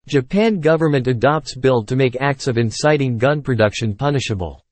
Japan government adopts bill to make acts of inciting gun production punishable.